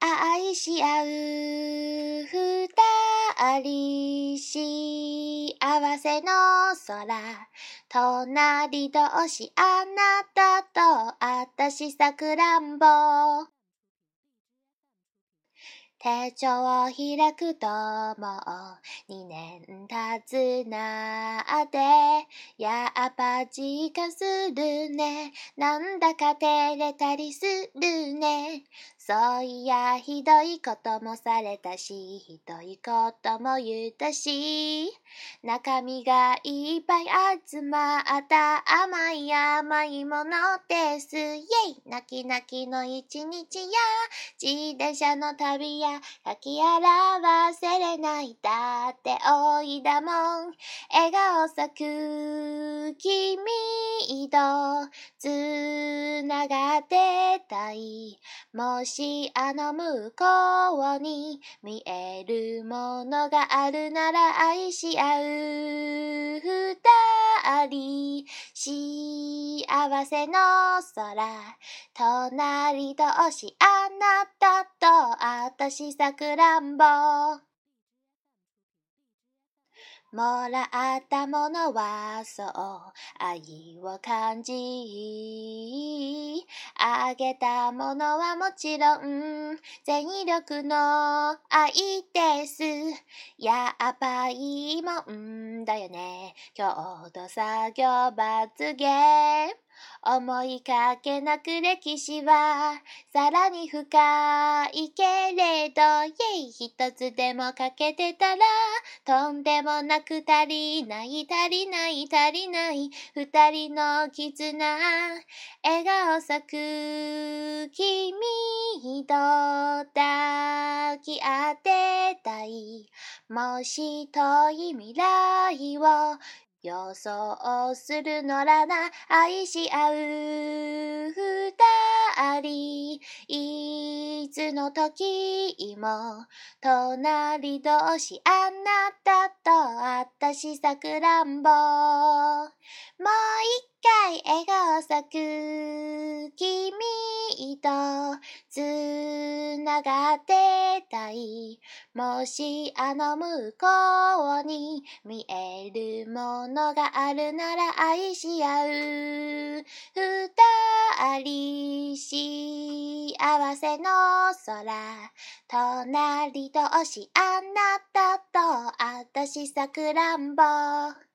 愛し合う二人幸せの空隣同士あなたとあたしさくらんぼ手帳を開くともう2年経つなってやっぱ時間するねなんだか照れたりするねそういやひどいこともされたしひどいことも言ったし中身がいっぱい集まった甘い甘いものですイェイ泣き泣きの一日や自転車の旅や書き表せれないだっておいだもん笑顔咲く君とつながってたいもしあの向こうに見えるものがあるなら愛し合う二人幸せの空隣同士あなたとあたしさくらんぼもらったものはそう愛を感じあげたものはもちろん全力の愛ですやっぱいいもんだよね共同作業罰ゲーム思いかけなく歴史はさらに深いけれどイェイ一つでも欠けてたらとんでもなく足りない足りない足りない二人の絆笑顔咲く君と抱き合ってたいもし遠い未来を予想するのらな愛し合う二人いつの時も隣同士あなたとあたしさくらんぼもう一回笑顔咲く君とつながってたいもしあの向こうに見えるものがあるなら愛し合う二人幸せの空隣同士あなたとあたしさくらんぼ